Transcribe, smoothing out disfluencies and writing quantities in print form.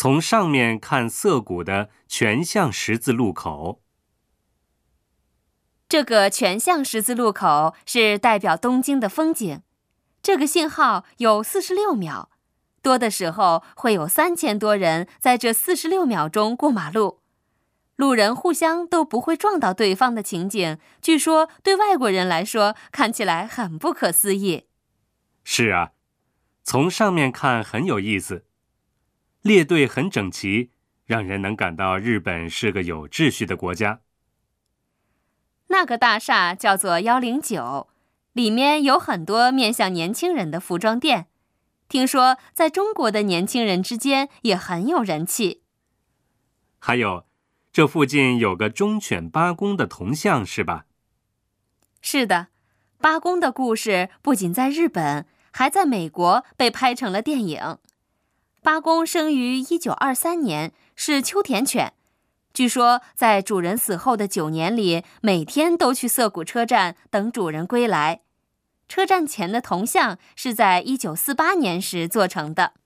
从上面看涩谷的全巷十字路口。 这个全巷十字路口是代表东京的风景，这个信号有46秒，多的时候会有3000多人在这46秒钟过马路。路人互相都不会撞到对方的情景，据说对外国人来说看起来很不可思议。 是啊，从上面看很有意思，列队很整齐，让人能感到日本是个有秩序的国家。 那个大厦叫做109，里面有很多面向年轻人的服装店，听说在中国的年轻人之间也很有人气。 还有，这附近有个忠犬八公的铜像，是吧？ 是的，八公的故事不仅在日本，还在美国被拍成了电影。八公生于1923年，是秋田犬。据说在主人死后的9年里，每天都去涩谷车站等主人归来。车站前的铜像是在1948年时做成的。